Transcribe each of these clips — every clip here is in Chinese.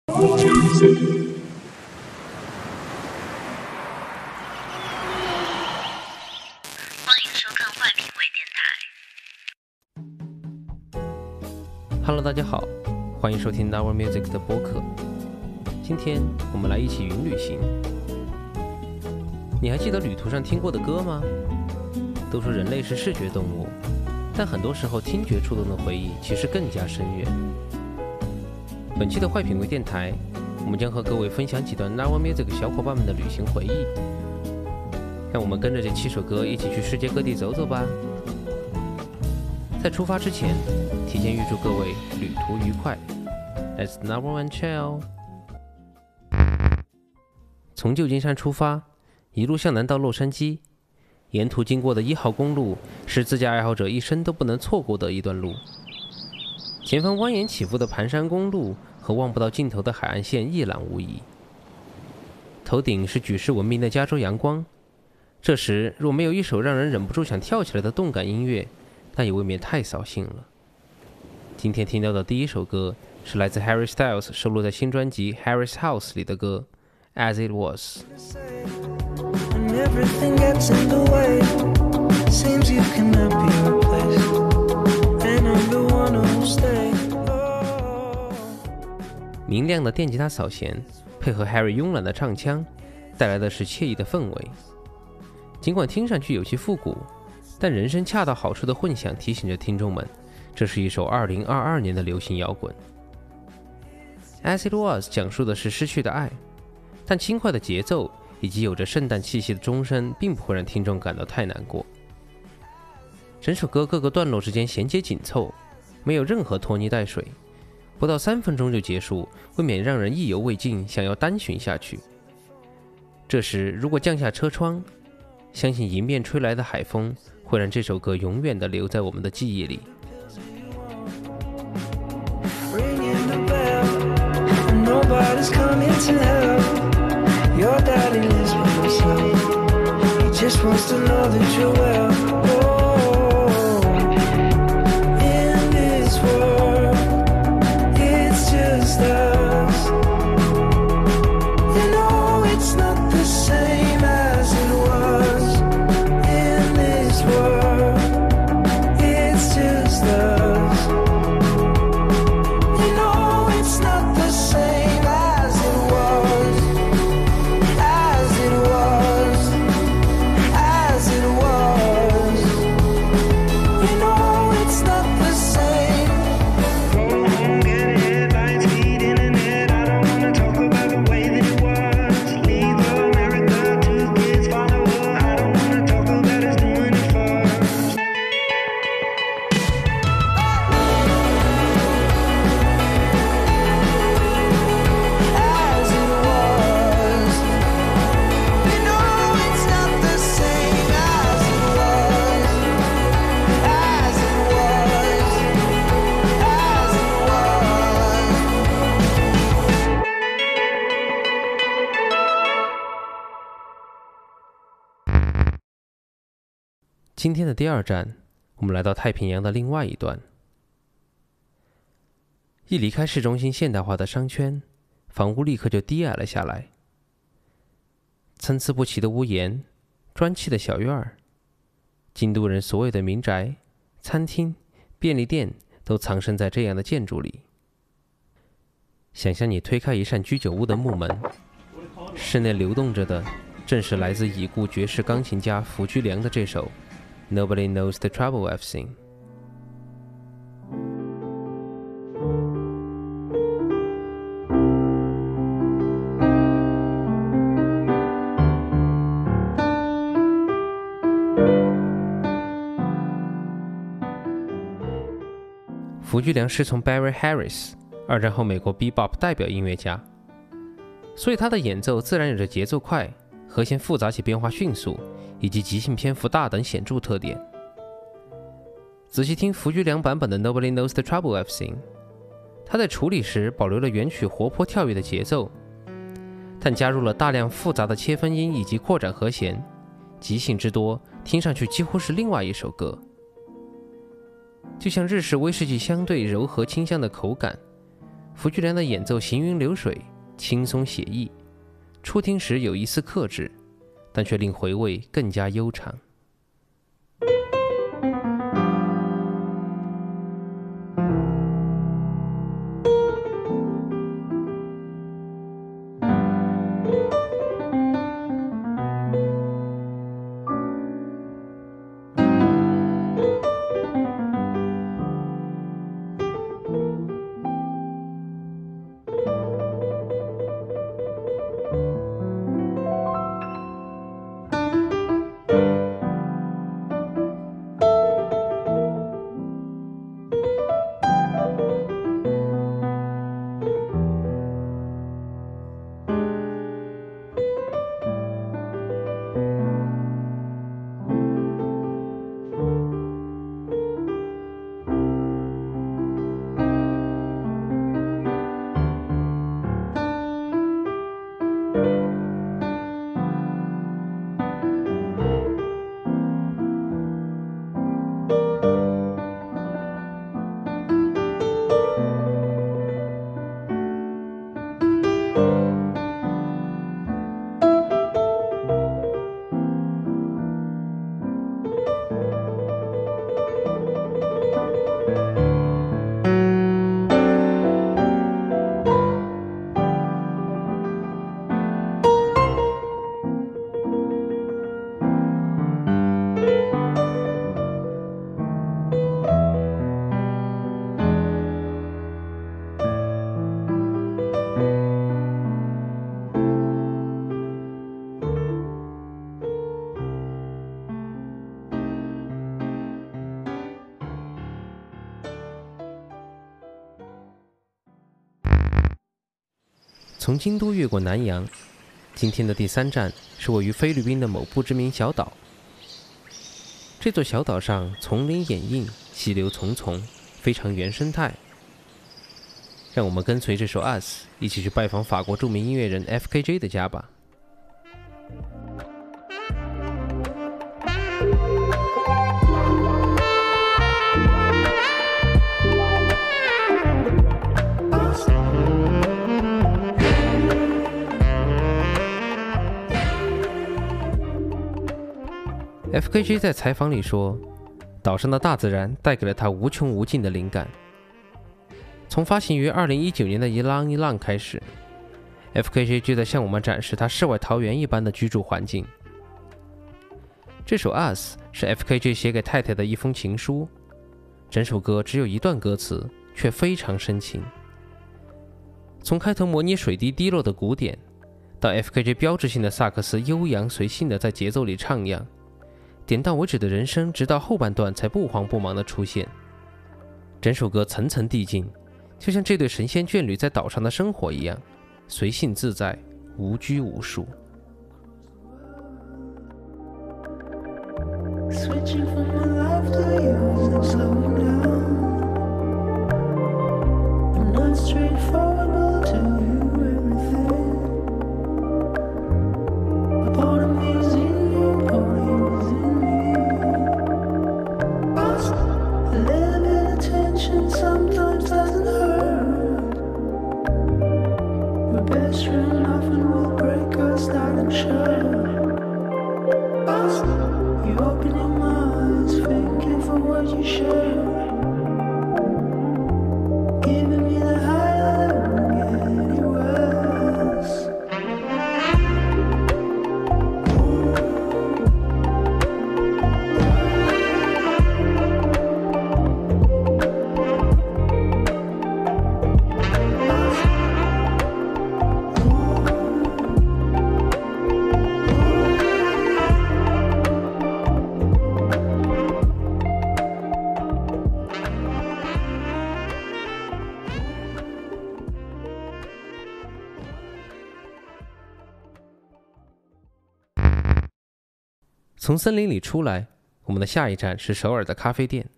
Hello， 大家好，欢迎收听 Our Music 的播客。今天我们来一起云旅行。你还记得旅途上听过的歌吗？都说人类是视觉动物，但很多时候听觉触动的回忆其实更加深远。本期的坏品味电台，我们将和各位分享几段 Our Music 小伙伴们的旅行回忆。让我们跟着这7首歌一起去世界各地走走吧。在出发之前，提前预祝各位旅途愉快。Let's number one chill。从旧金山出发，一路向南到洛杉矶，沿途经过的1号公路是自驾爱好者一生都不能错过的一段路。前方蜿蜒起伏的盘山公路和望不到尽头的海岸线一览无遗。头顶是举世闻名的加州阳光，这时若没有一首让人忍不住想跳起来的动感音乐，那也未免太扫兴了。今天听到的第一首歌是来自 Harry Styles 收录在新专辑 Harry's House 里的歌 As It Was。 明亮的电吉他扫弦配合 Harry 慵懒的唱腔，带来的是惬意的氛围。尽管听上去有些复古，但人声恰到好处的混响提醒着听众们，这是一首2022年的流行摇滚。 As It Was 讲述的是失去的爱，但轻快的节奏以及有着圣诞气息的钟声并不会让听众感到太难过。整首歌各个段落之间衔接紧凑，没有任何拖泥带水，不到3分钟就结束，未免让人意犹未尽，想要单循下去。这时如果降下车窗，相信迎面吹来的海风会让这首歌永远地留在我们的记忆里。今天的第2站，我们来到太平洋的另外一端。一离开市中心现代化的商圈，房屋立刻就低矮了下来。参差不齐的屋檐，砖砌的小院儿，京都人所有的民宅、餐厅、便利店都藏身在这样的建筑里。想象你推开一扇居酒屋的木门，室内流动着的正是来自已故爵士钢琴家福居良的这首Nobody knows the trouble I've seen。 福居良师从 Barry Harris， 2战后美国 Bebop 代表音乐家，所以他的演奏自然有着节奏快、和弦复杂且变化迅速，以及即兴篇幅大等显著特点。仔细听福居良版本的 Nobody knows the trouble I've seen， 他在处理时保留了原曲活泼跳跃的节奏，但加入了大量复杂的切分音以及扩展和弦，即兴之多，听上去几乎是另外一首歌。就像日式威士忌相对柔和清香的口感， 福居良的演奏行云流水，轻松写意，初听时有一丝克制，但却令回味更加悠长。从京都越过南洋，今天的第3站是位于菲律宾的某不知名小岛。这座小岛上丛林掩映，溪流淙淙，非常原生态。让我们跟随这首《Us》一起去拜访法国著名音乐人 FKJ 的家吧。FKJ 在采访里说，岛上的大自然带给了他无穷无尽的灵感。从发行于2019年的一浪一浪开始， FKJ 就在向我们展示他世外桃源一般的居住环境。这首 Us 是 FKJ 写给太太的一封情书，整首歌只有一段歌词，却非常深情。从开头模拟水滴滴落的鼓点，到 FKJ 标志性的萨克斯悠扬随性的在节奏里徜徉，点到为止的人声直到后半段才不慌不忙的出现。整首歌层层递进，就像这对神仙眷侣在岛上的生活一样，随性自在，无拘无束。Switching from my life to yours and slowing down. I'm not straightforward, but to you everything. A part of me is in you, a part of you is in me. A little bit of tension sometimes doesn't hurt. We're best friends, nothing will break us, darling, sure.You open your eyes, thinking for what you share. Giving me the high that won't get anywhere else.从森林里出来，我们的下一站是首尔的咖啡店。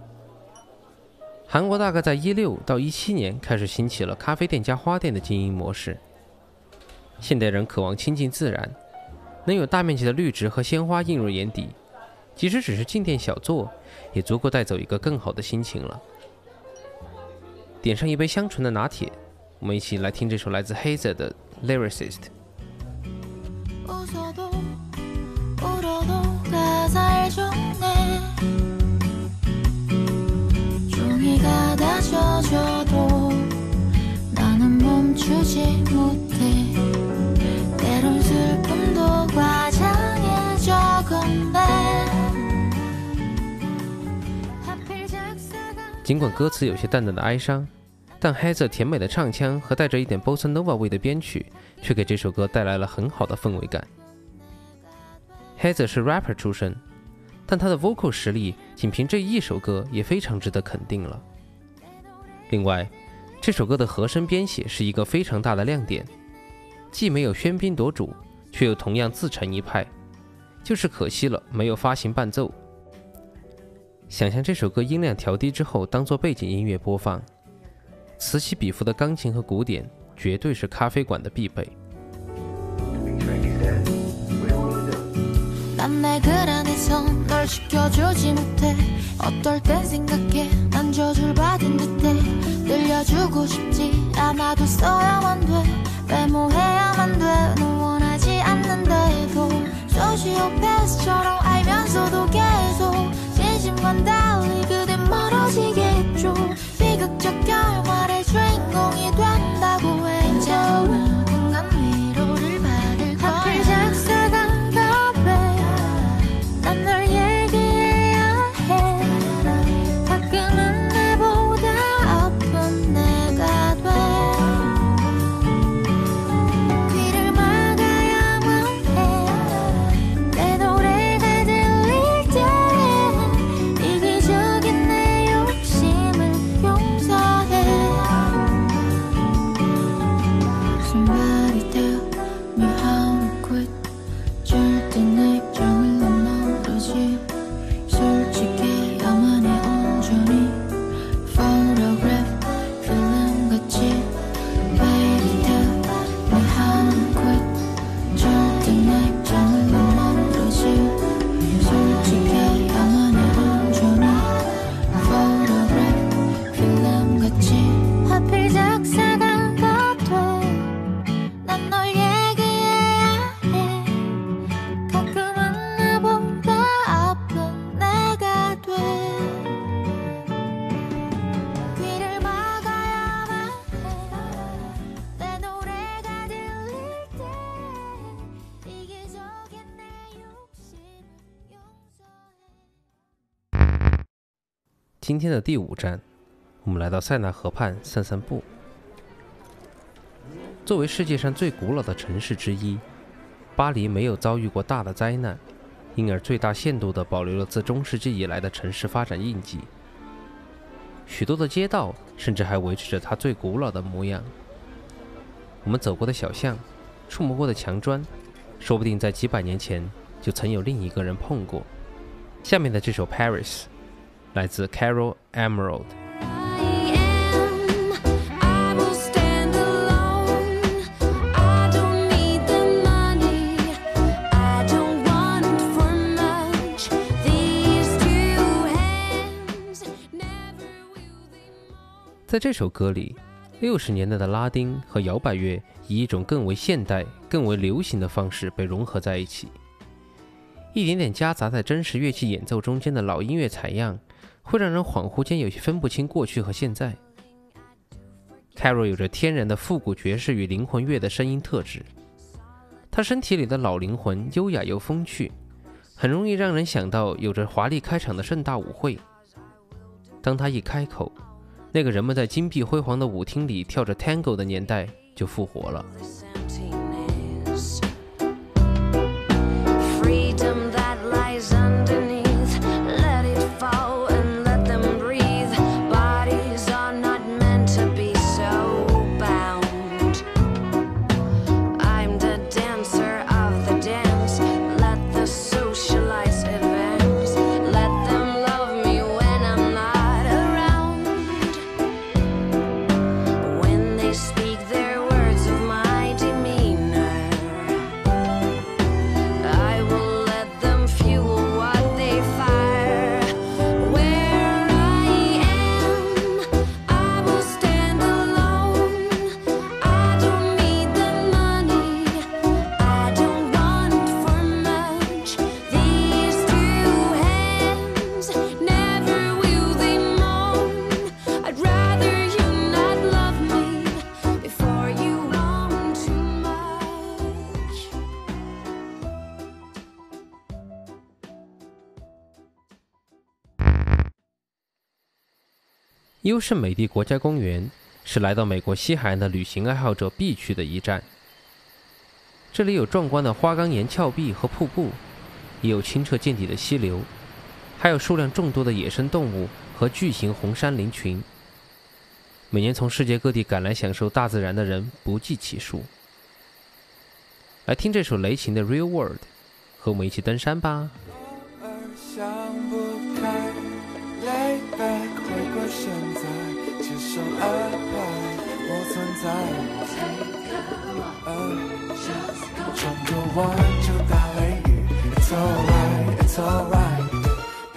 韩国大概在16到17年开始兴起了咖啡店加花店的经营模式。现代人渴望亲近自然，能有大面积的绿植和鲜花映入眼底，即使只是进店小坐，也足够带走一个更好的心情了。 点上一杯香醇的拿铁，我们一起来听这首来自 Hazer 的 Lyricist。 尽管歌词有些淡淡的哀伤，但 Hazer 甜美的唱腔和带着一点 Bossa Nova 味的编曲却给这首歌带来了很好的氛围感。 Hazer 是 rapper 出身，但他的 vocal 实力仅凭这一首歌也非常值得肯定了。另外，这首歌的和声编写是一个非常大的亮点，既没有喧宾夺主，却又同样自成一派，就是可惜了没有发行伴奏。想象这首歌音量调低之后当做背景音乐播放，此起彼伏的钢琴和鼓点绝对是咖啡馆的必备。난 내 글 안에서 널 지켜주지 못해 어떨 땐 생각해 난 저주를 받은 듯해 들려주고 싶지 않아도 써야만 돼 외모해야만 돼 널 원하지 않는데도 소시오패스처럼 알면서도 계속 진심과 달리 그댄 멀어지게 했죠 비극적 결말의 주인공이 된다고 했죠 인간 위로를 받을 거야 하필 작사가 난 널 얘기해야 해 가끔은 내보다 아픈 내가 돼 귀를 막아야만 해 내 노래가 들릴 때 이기적인 내 욕심을 용서해 Somebody tell me how to quit 절대 내 입장을 솔직히 나만의 온전히 photograph 필름같이 Baby tell me how to quit 절대 내 입장을 모르지 솔직히 나만의 온전히 photograph 필름같이 하필 작사가 돼난 널 얘기해야 해 가끔은 나보다 아픈 내가 돼 귀를 막아야만 해내 노래가 들릴 때 이기적인 내 욕심을 용서해。 今天的第5站，我们来到塞纳河畔散散步。作为世界上最古老的城市之一，巴黎没有遭遇过大的灾难，因而最大限度地保留了自中世纪以来的城市发展印记。许多的街道甚至还维持着它最古老的模样。我们走过的小巷，触摸过的墙砖，说不定在几百年前就曾有另一个人碰过。下面的这首 Paris 来自 Carol Emerald。在这首歌里，60年代的拉丁和摇摆乐以一种更为现代、更为流行的方式被融合在一起，一点点夹杂在真实乐器演奏中间的老音乐采样，会让人恍惚间有些分不清过去和现在。Carol 有着天然的复古爵士与灵魂乐的声音特质，他身体里的老灵魂优雅又风趣，很容易让人想到有着华丽开场的盛大舞会。当他一开口，那个人们在金碧辉煌的舞厅里跳着 Tango 的年代就复活了。 Speak their words of my 优胜美地国家公园是来到美国西海岸的旅行爱好者必去的一站。这里有壮观的花岗岩峭壁和瀑布，也有清澈见底的溪流，还有数量众多的野生动物和巨型红杉林群。每年从世界各地赶来享受大自然的人不计其数。来听这首雷琴的《Real World》，和我们一起登山吧。 想不开 lay back 回归现在，接受安排，我存在。转个弯就打雷雨 It's alright, it's alright。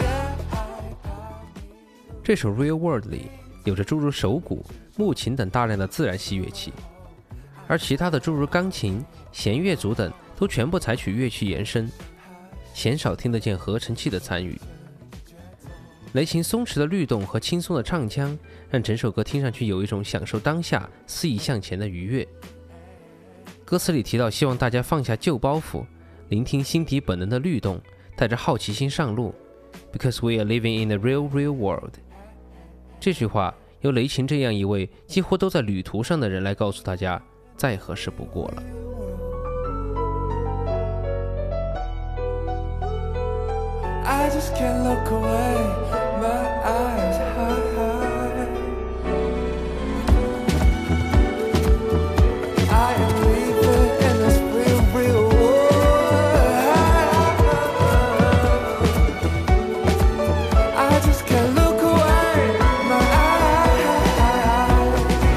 这首《Real World》里有着诸如手鼓、木琴等大量的自然系乐器，而其他的诸如钢琴、弦乐组等都全部采取乐器延伸，鲜少听得见合成器的参与。雷琴松弛的律动和轻松的唱腔，让整首歌听上去有一种享受当下、肆意向前的愉悦。歌词里提到希望大家放下旧包袱，聆听心底本能的律动，带着好奇心上路 Because we are living in the real world。 这句话由雷琴这样一位几乎都在旅途上的人来告诉大家，再合适不过了。 I just can't look away, my eyes high. I am living in this real world. I just can't look away, my eyes.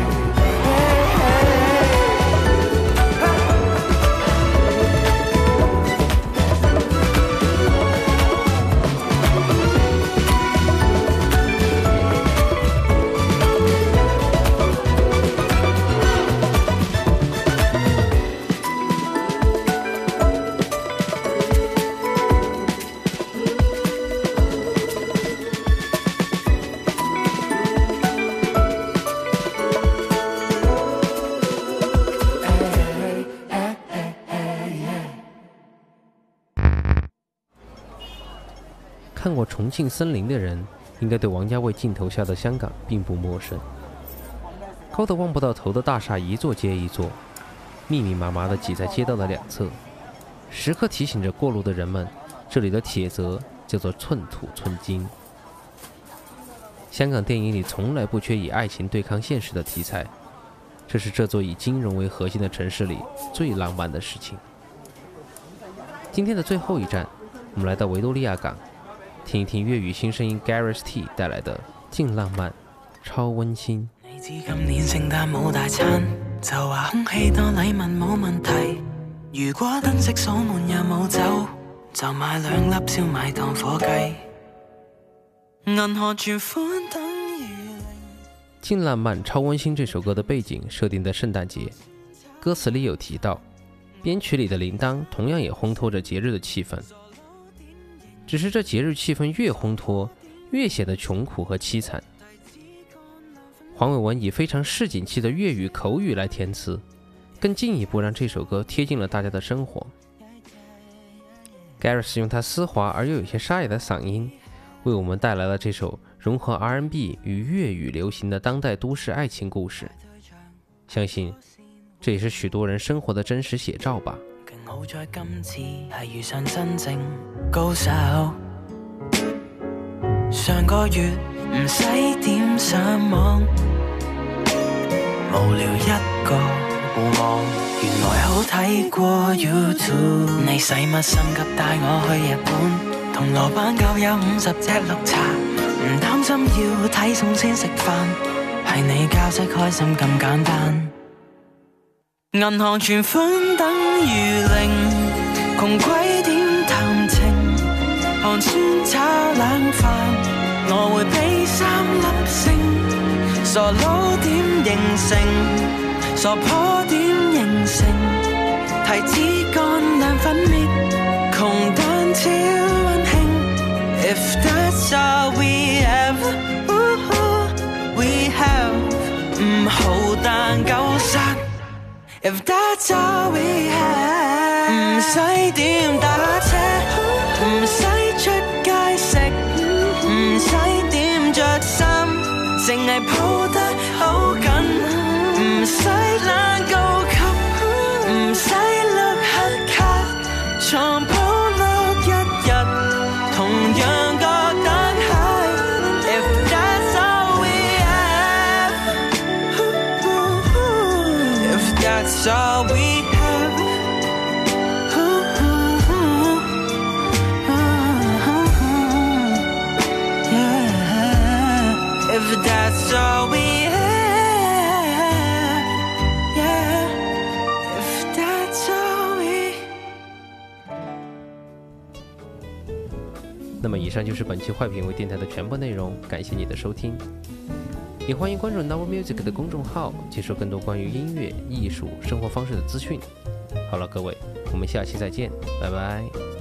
看过《重庆森林》的人，应该对王家卫镜头下的香港并不陌生。高得望不到头的大厦一座接一座，密密麻麻地挤在街道的两侧，时刻提醒着过路的人们，这里的铁则叫做寸土寸金。香港电影里从来不缺以爱情对抗现实的题材，这是这座以金融为核心的城市里最浪漫的事情。今天的最后一站，我们来到维多利亚港，听一听粵語新聲音 Gareth T 帶來的勁浪漫超溫馨。 你知今年聖誕冇大餐，就話空氣多禮物冇問題。如果燈飾鎖門又冇走，就買2粒燒賣當火雞。銀河存款等於零。 勁浪漫超溫馨這首歌的背景設定在聖誕節，歌詞裡有提到，編曲裡的鈴鐺同樣也烘托着節日的氣氛。只是這節日氣氛越烘托，越顯得窮苦和淒慘。黃偉文以非常市井氣的粵語口語來填詞，更進一步讓這首歌貼近了大家的生活。Gareth 用他絲滑而又有些沙啞的嗓音，為我們帶來了這首融合 R&B 與粵語流行的當代都市愛情故事。相信這也是許多人生活的真實寫照吧。 好在今次係遇上真正高手，上個月唔使點上網，無聊一個互望，原來好睇過 YouTube。你使乜心急帶我去日本？銅鑼灣夠有50隻綠茶，唔擔心要睇餸先食飯，係你教識開心咁簡單。銀行存款等於零，窮鬼點談情？寒酸炒冷飯，我會俾3粒星。傻佬點形成？傻婆點形成？提子乾涼粉滅，窮但超溫馨。If that's all we have， we have， 唔好但夠殺。If that's all we have， 唔使點打車，唔使出街食，唔使點着衫，淨係 that's all we have. Yeah, if that's all we have, yeah, if that's all we. 那么以上就是本期坏品味电台的全部内容，感谢你的收听，也欢迎关注 Novel Music 的公众号，接收更多关于音乐、艺术、生活方式的资讯。好了，各位，我们下期再见，拜拜。